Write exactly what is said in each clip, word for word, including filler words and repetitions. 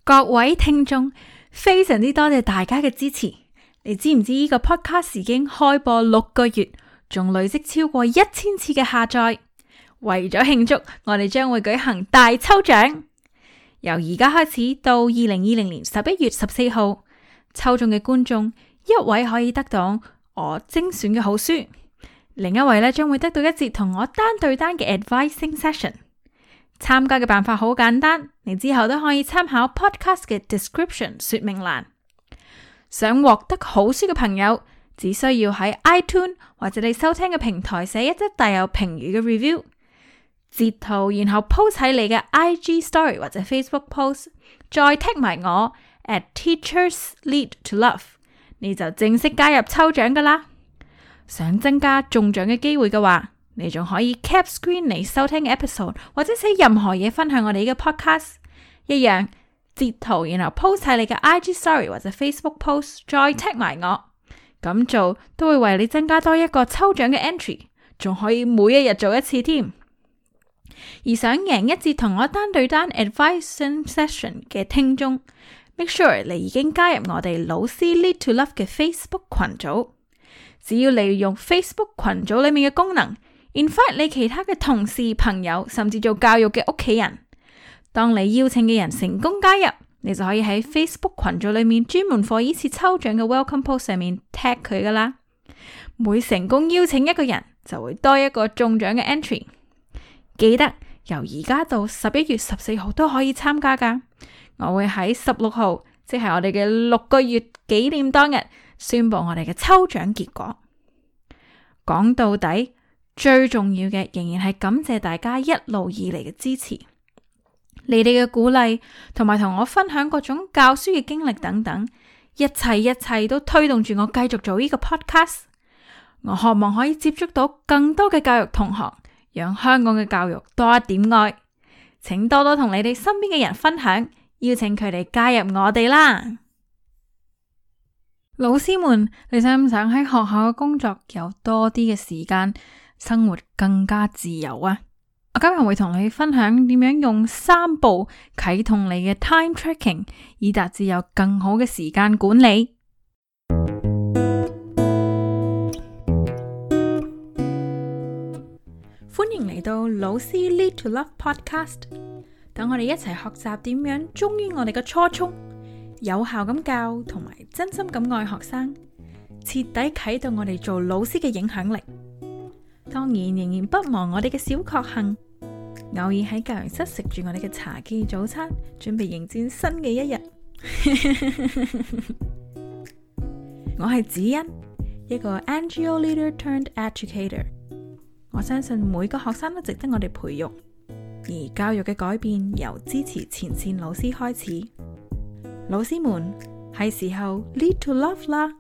各位聽眾，非常之多謝大家嘅支持。你知唔知呢個 podcast 已經開播六個月，仲累積超過一千次嘅下載？為咗慶祝，我哋將會舉行大抽獎。由而家開始到二零二零年十一月十四號，抽中嘅觀眾一位可以得到我精選嘅好書，另一位咧將會得到一節同我單對單嘅 advising session。參加嘅辦法好簡單，你之後都可以參考 podcast 嘅 description 說明欄。想獲得好書嘅朋友，只需要喺 iTunes 或者你收聽嘅平台寫一則帶有評語嘅 review， 截圖然後 post 喺你嘅 I G story 或者 Facebook post， 再 tag 埋我 at Teachers Lead to Love， 你就正式加入抽獎噶啦。想增加中獎嘅機會嘅話，你仲可以 cap screen 你收聽嘅 episode， 或者寫任何嘢分享我哋呢個 podcast， 一樣截圖然後 post 喺你嘅 I G story 或者 Facebook post， 再 tag 埋我，咁做都會為你增加多一個抽獎嘅 entry， 仲可以每一日做一次添。而想贏一節同我單對單 advising session 嘅聽眾， make sure 你已經加入我哋老師 Lead to Love 嘅 Facebook 群組。只要利用 Facebook 群組裏面嘅功能invite 你其他嘅同事、朋友，甚至做教育嘅屋企人。當你邀請嘅人成功加入，你就可以喺 Facebook 群組裏面專門為呢次抽獎嘅 welcome post 上面 tag 佢噶啦。每成功邀請一個人，就會多一個中獎嘅 entry。記得由而家到十一月十四號都可以參加噶。我會喺十六號，即係我哋嘅六個月紀念當日，宣布我哋嘅抽獎結果。講到底，最重要嘅仍然係感謝大家一路以嚟嘅支持，你哋嘅鼓勵同埋同我分享各種教書嘅經歷等等，一切一切都推動住我繼續做呢個 podcast。我渴望可以接觸到更多嘅教育同學，讓香港嘅教育多一點愛。請多多同你哋身邊嘅人分享，邀請佢哋加入我哋啦。老師們，你想唔想喺學校嘅工作有多啲嘅時間，生活更加自由啊？我今日會同你分享點樣用三步啟動你嘅 time tracking， 以達至有更好嘅時間管理。歡迎嚟到老師 Lead to Love Podcast， 等我哋一齊學習點樣忠於我哋嘅初衷，有效咁教同埋真心咁愛學生，徹底啟動我哋做老師嘅影響力。當然仍然不忘我哋嘅小確幸，偶爾喺教研室食住我哋嘅茶記早餐，準備迎戰新嘅一日。我係子欣，一個 N G O leader turned educator。我相信每個學生都值得我哋培育，而教育嘅改變由支持前線老師開始。老師們，係時候 lead to love 啦！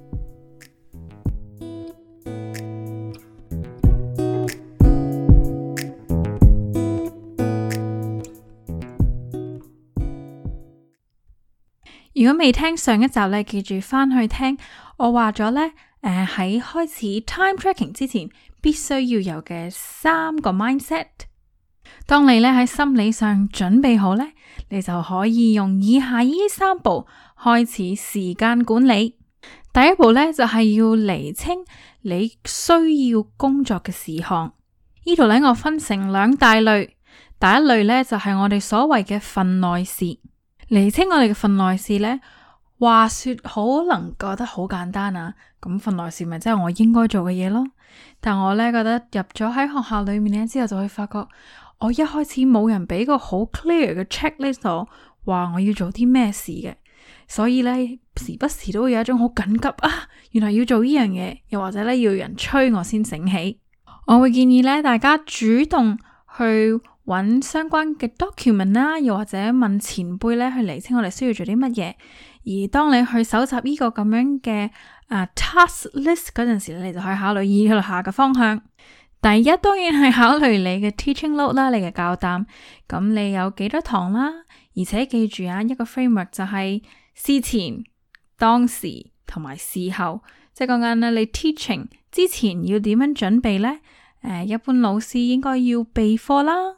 如果未聽上一集咧，記住翻去聽。我話咗咧，誒、呃、喺開始 time tracking 之前，必須要有嘅三個 mindset。當你咧喺心理上準備好咧，你就可以用以下呢三步開始時間管理。第一步咧就係、是、要釐清你需要工作嘅事項。呢度咧我分成兩大類，第一類咧就係、是、我哋所謂嘅份內事。釐清我哋嘅份內事呢，話說可能覺得好簡單啊，咁份內事咪即係我應該做嘅嘢咯。但我呢覺得入咗喺學校裏面呢之後，就會發覺我一開始冇人俾個好 clear 嘅 checklist 我，話我要做啲咩事嘅，所以呢時不時都會有一種好緊急啊，原來要做呢樣嘢，又或者呢要人催我先醒起。我會建議呢大家主動去揾相關嘅 document 啦，又或者問前輩咧去釐清我哋需要做啲乜嘢。而當你去搜集呢個咁樣嘅啊、uh, task list 嗰陣時，你就可以考慮以下嘅方向。第一，當然係考慮你嘅 teaching load 啦，你嘅教擔。咁你有幾多堂啦？而且記住啊，一個 framework 就係事前、當時同埋事後。即係講緊咧，你 teaching 之前要點樣準備呢？誒、呃，一般老師應該要備課啦。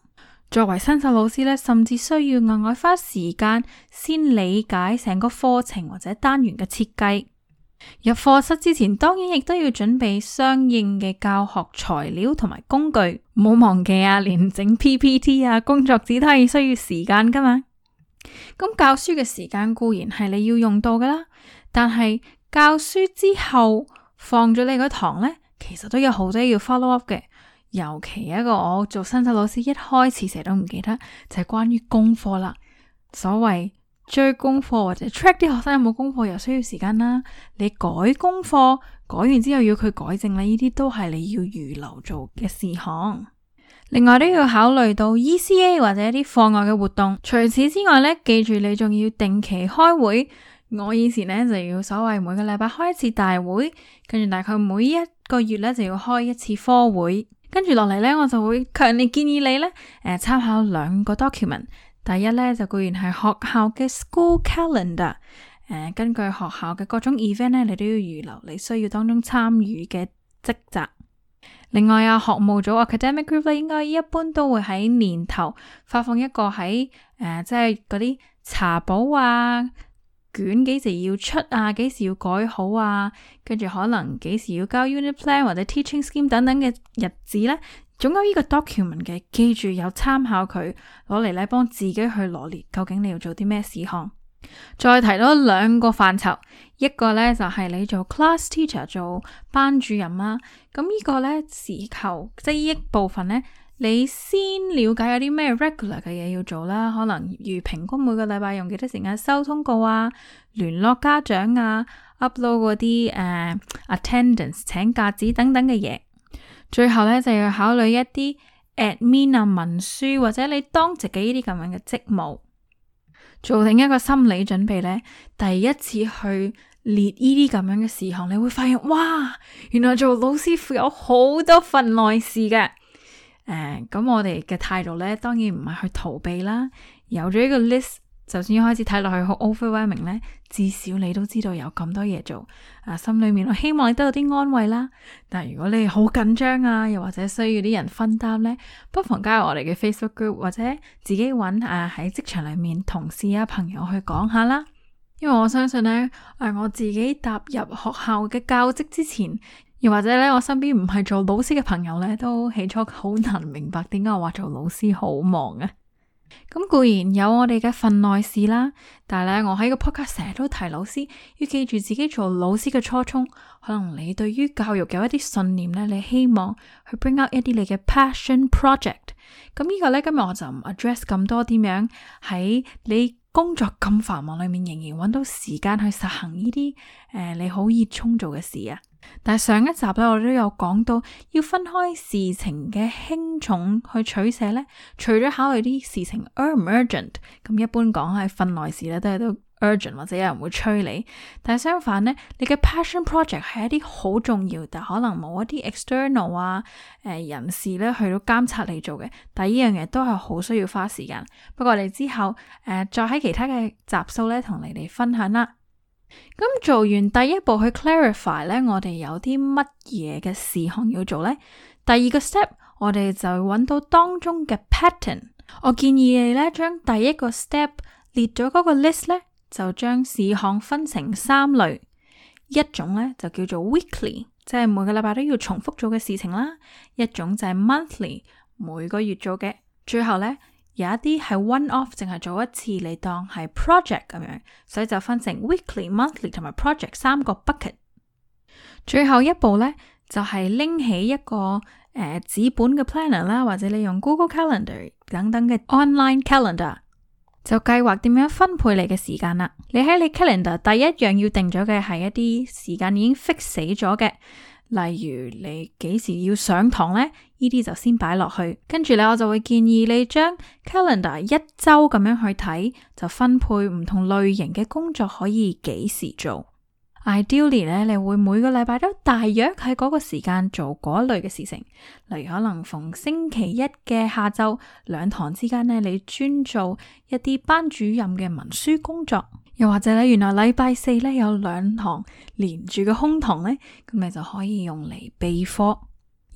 作為新手老師咧，甚至需要額外花時間先理解成個課程或者單元嘅設計。入課室之前，當然亦都要準備相應嘅教學材料同埋工具。唔好忘記啊，連整 P P T 啊、工作紙都係需要時間噶嘛。咁教書嘅時間固然係你要用到噶啦，但係教書之後放咗你嗰堂呢，其實都有好多要 follow up 嘅。尤其一個我做新手老師一開始成日都唔記得，就係關於功課啦。所謂追功課或者 track 啲學生有冇功課，又需要時間啦。你改功課改完之後要佢改正，呢啲都係你要預留做嘅事項。另外都要考慮到 E C A 或者一啲課外嘅活動。除此之外呢，記住你仲要定期開會。我以前呢，就要所謂每個禮拜開一次大會，跟住大概每一個月呢，就要開一次科會。跟住落嚟呢，我就會強烈建議你呢，誒、呃，參考兩個 document。第一呢，就固然係學校嘅 school calendar，誒、呃，根據學校嘅各種 event 呢，你都要預留你需要當中參與嘅職責。另外啊，學務組 academic group 咧，應該一般都會喺年頭發放一個喺誒、呃，即係嗰啲查簿啊。卷幾時要出啊？幾時要改好啊？跟住可能幾時要交 unit plan 或者 teaching scheme 等等嘅日子呢？總有呢個 document 嘅，記住有參考佢，攞嚟咧幫自己去羅列究竟你要做啲咩事項。再提多兩個範疇，一個呢就係、是、你做 class teacher 做班主任啦。咁呢個呢，時求即係呢一部分呢，你先了解有啲咩 regular 嘅嘢要做啦，可能如平均每個禮拜用幾多時間收通告啊、聯絡家長啊、upload 嗰啲誒、uh, attendance 請假紙等等嘅嘢。最後咧就要考慮一啲 admin 啊、文書或者你當值嘅呢啲咁樣嘅職務，做定一個心理準備咧。第一次去列呢啲咁樣嘅事項，你會發現哇，原來做老師傅有好多份內事嘅。誒，咁、uh, 我哋嘅態度咧，當然唔係去逃避啦。有咗呢個 list，就算一開始睇落去好 overwhelming 咧，至少你都知道有咁多嘢做。啊，心裏面我希望你得到啲安慰啦。但係如果你好緊張啊，又或者需要啲人分擔咧，不妨加入我哋嘅 Facebook group，或者自己揾啊喺職場裏面同事啊朋友去講下啦。因為我相信咧，誒我自己踏入學校嘅教職之前，又或者咧，我身邊唔係做老師嘅朋友咧，都起初好難明白點解我話做老師好忙啊。咁固然有我哋嘅份內事啦，但係咧，我喺個 podcast 成日都提老師要記住自己做老師嘅初衷。可能你對於教育有一啲信念咧，你希望去 bring out 一啲你嘅 passion project。咁呢個咧，今日我就唔 address 咁多點樣喺你工作咁繁忙裏面仍然揾到時間去實行呢啲誒你好熱衷做嘅事啊。但係上一集咧，我都有講到要分開事情嘅輕重去取捨咧。除咗考慮啲事情 urgent，咁一般講係份內事咧，都係都 urgent 或者有人會催你。但係相反咧，你嘅 passion project 係一啲好重要，但可能冇一啲 external 啊誒、呃、人士咧去到監察你做嘅。但係呢樣嘢都係好需要花時間。不過我哋之後誒、呃、再喺其他嘅集數咧同你哋分享啦。咁做完第一步去 clarify 咧，我哋有啲乜嘢嘅事項要做呢？第二個 step，我哋就揾到當中嘅 pattern。我建議你咧，將第一個 step 列咗嗰個 list 咧，就將事項分成三類。一種咧就叫做 weekly，即係每個禮拜都要重複做嘅事情啦；一種就係 monthly，每個月做嘅；最後咧，有一啲係 one off，淨係做一次，你當係 project 咁樣，所以就分成 weekly、monthly 同埋 project 三個 bucket。最後一步呢，就係、是、拎起一個誒紙、呃、本嘅 planner 啦，或者你用 Google Calendar 等等嘅 online calendar，就計劃點樣分配你嘅時間啦。你喺你 calendar 第一樣要定咗嘅係一啲時間已經 fix 死咗嘅。例如你幾時要上堂呢？呢啲就先擺落去。跟住咧，我就會建議你將 calendar 一周咁樣去睇，就分配唔同類型嘅工作可以幾時做。Ideally 咧，你會每個禮拜都大約喺嗰個時間做嗰類嘅事情。例如可能逢星期一嘅下晝兩堂之間呢，你專做一啲班主任嘅文書工作。又或者咧，原來禮拜四咧有兩堂連住嘅空堂咧，咁你就可以用嚟備課。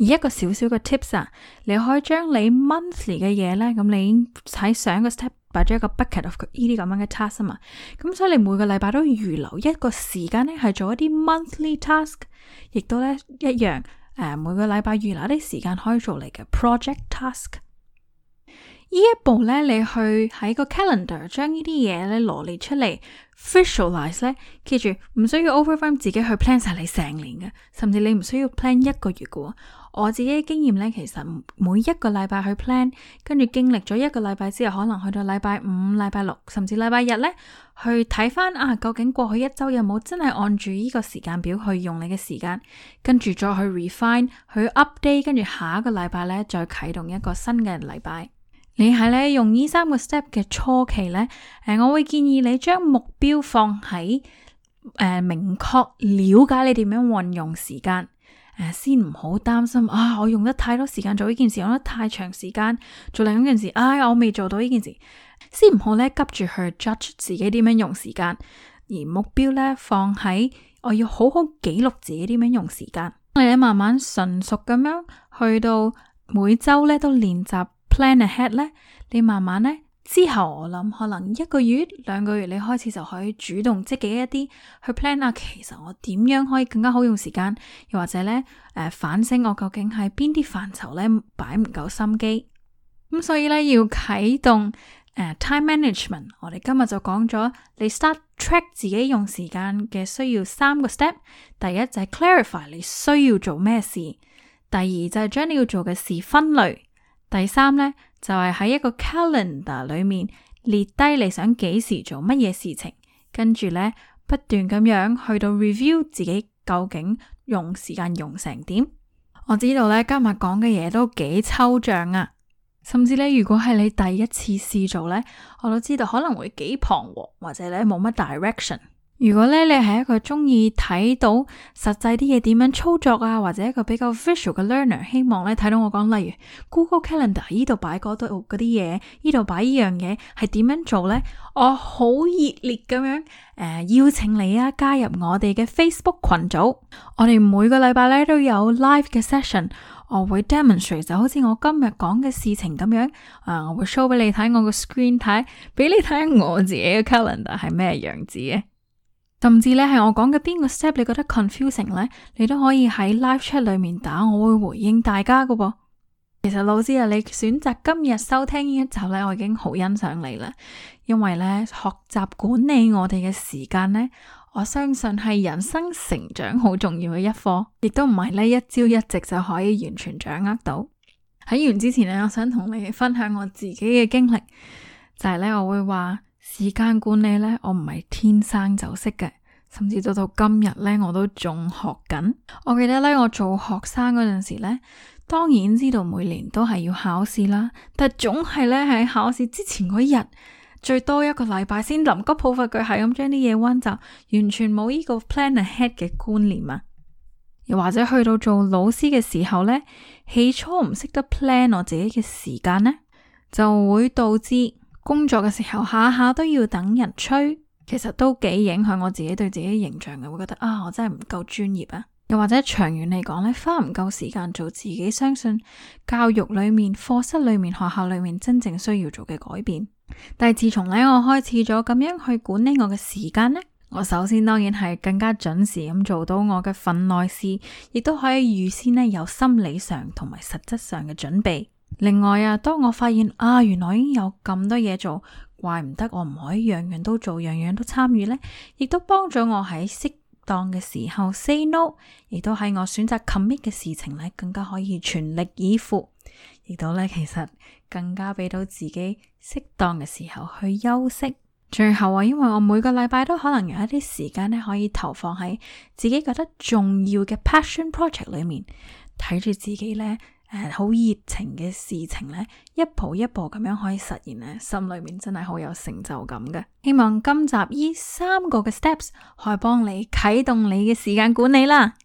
而一個小小嘅 tips 啊，你可以將你 monthly 嘅嘢呢，咁你已經喺上一個 step 擺咗一個 bucket of 呢啲咁樣嘅 task 啊嘛，咁所以你每個禮拜都要預留一個時間呢，係做一啲 monthly task， 亦都呢一樣誒、呃，每個禮拜預留啲時間可以做你嘅 project task。呢一步呢，你去喺個 calendar 將呢啲嘢呢羅列出嚟 visualize 呢，記住唔需要 overwhelm 自己去 plan 晒你成年嘅，甚至你唔需要 plan 一個月嘅。我自己嘅經驗呢，其實每一個禮拜去 plan， 跟住經歷咗一個禮拜之後，可能去到禮拜五、禮拜六，甚至禮拜日呢，去睇翻啊，究竟過去一周有冇真係按住呢個時間表去用你嘅時間，跟住再去 refine， 去 update， 跟住下一個禮拜呢，再啟動一個新嘅禮拜。你係咧用呢三個 step 嘅初期呢，誒，我會建議你將目標放喺誒、呃、明確了解你點樣運用時間，誒、呃，先唔好擔心啊，我用得太多時間做呢件事，用得太長時間做另一件事，唉、哎，我未做到呢件事，先唔好咧急住去 judge 自己點樣用時間，而目標咧放喺我要好好記錄自己點樣用時間，你咧慢慢純熟咁樣去到每周咧都練習。Plan ahead 咧，你慢慢咧之後，我諗可能一個月、兩個月，你開始就可以主動積極一啲去 plan 啊。其實我點樣可以更加好用時間，又或者咧誒、呃、反省我究竟喺邊啲範疇咧擺唔夠心機。咁所以咧要啟動誒、呃、time management， 我哋今日就講咗你 start track 自己用時間嘅需要三個 step。第一就係 clarify 你需要做咩事，第二就係將你要做嘅事分類。第三呢，就係喺一個 calendar 裏面列低你想幾時做乜嘢事情，跟住呢，不斷咁樣去到 review 自己究竟用時間用成點。我知道呢，今日講嘅嘢都幾抽象啊，甚至呢，如果係你第一次試做呢，我都知道可能會幾彷徨，或者呢冇乜 direction。如果咧你係一個中意睇到實際啲嘢點樣操作啊，或者一個比較 visual 嘅 learner， 希望咧睇到我講，例如 Google Calendar 呢度擺嗰度嗰啲嘢，呢度擺呢樣嘢係點樣做呢？我好熱烈咁樣誒、呃、邀請你啊加入我哋嘅 Facebook 群組，我哋每個禮拜咧都有 live 嘅 session， 我會 demonstrate 就好似我今日講嘅事情咁樣，啊、呃、我會 show 俾你睇我個 screen 睇，俾你睇我自己嘅 calendar 係咩樣子嘅。甚至咧係我講嘅邊個 step 你覺得 confusing 咧，你都可以喺 live chat 裏面打，我會回應大家噶噃。其實老師啊，你選擇今日收聽呢一集咧，我已經好欣賞你啦。因為咧學習管理我哋嘅時間咧，我相信係人生成長好重要嘅一課，亦都唔係呢一朝一夕就可以完全掌握到。喺完之前咧，我想同你分享我自己嘅經歷，就係咧我會話。時間管理呢，我唔係天生就識嘅，甚至到到今日呢，我都仲學緊。我記得呢，我做學生嗰陣時呢，當然知道每年都係要考試啦，但總係呢，喺考試之前嗰日，最多一個禮拜先臨急抱佛腳係咁將啲嘢溫習，完全冇呢個 plan ahead 嘅觀念啊。又或者去到做老師嘅時候呢，起初唔識得 plan 我自己嘅時間呢，就會導致工作嘅時候下下都要等人催，其實都幾影響我自己對自己形象嘅，會覺得啊，我真係唔夠專業啊。又或者長遠嚟講呢，花唔夠時間做自己相信教育裏面、課室裏面、學校裏面真正需要做嘅改變。但係自從呢，我開始咗咁樣去管理我嘅時間呢，我首先當然係更加準時咁做到我嘅份內事，亦都可以預先呢有心理上同埋實質上嘅準備。另外啊，當我發現啊，原來已經有咁多嘢做，怪唔得我唔可以樣樣都做，樣樣都參與呢，亦都幫咗我喺適當嘅時候 say no， 亦都喺我選擇 commit 嘅事情呢，更加可以全力以赴，亦都呢，其實更加俾到自己適當嘅時候去休息。最後啊，因為我每個禮拜都可能有一啲時間呢，可以投放喺自己覺得重要嘅 passion project 裏面，睇住自己呢。誒，好熱情嘅事情呢，一步一步咁樣可以實現呢，心裏面真係好有成就感嘅。希望今集呢三個嘅 steps 可以幫你啟動你嘅時間管理啦。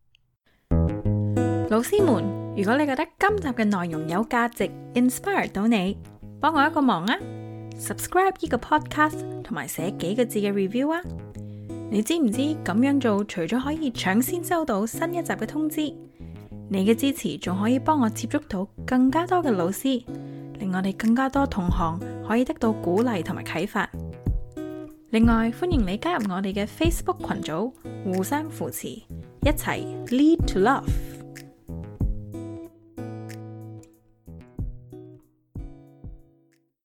老師們，如果你覺得今集嘅內容有價值 ，inspire 到你，幫我一個忙啊 ，subscribe 呢個 podcast 同埋寫幾個字嘅 review 啊。你知唔知咁樣做除咗可以搶先收到新一集嘅通知？ 你嘅支持仲可以幫我接觸到更加多嘅老師，令我哋更加多同行可以得到鼓勵同埋啟發。另外，歡迎你加入我哋嘅 Facebook 群組，互相扶持，一齊 Lead to Love。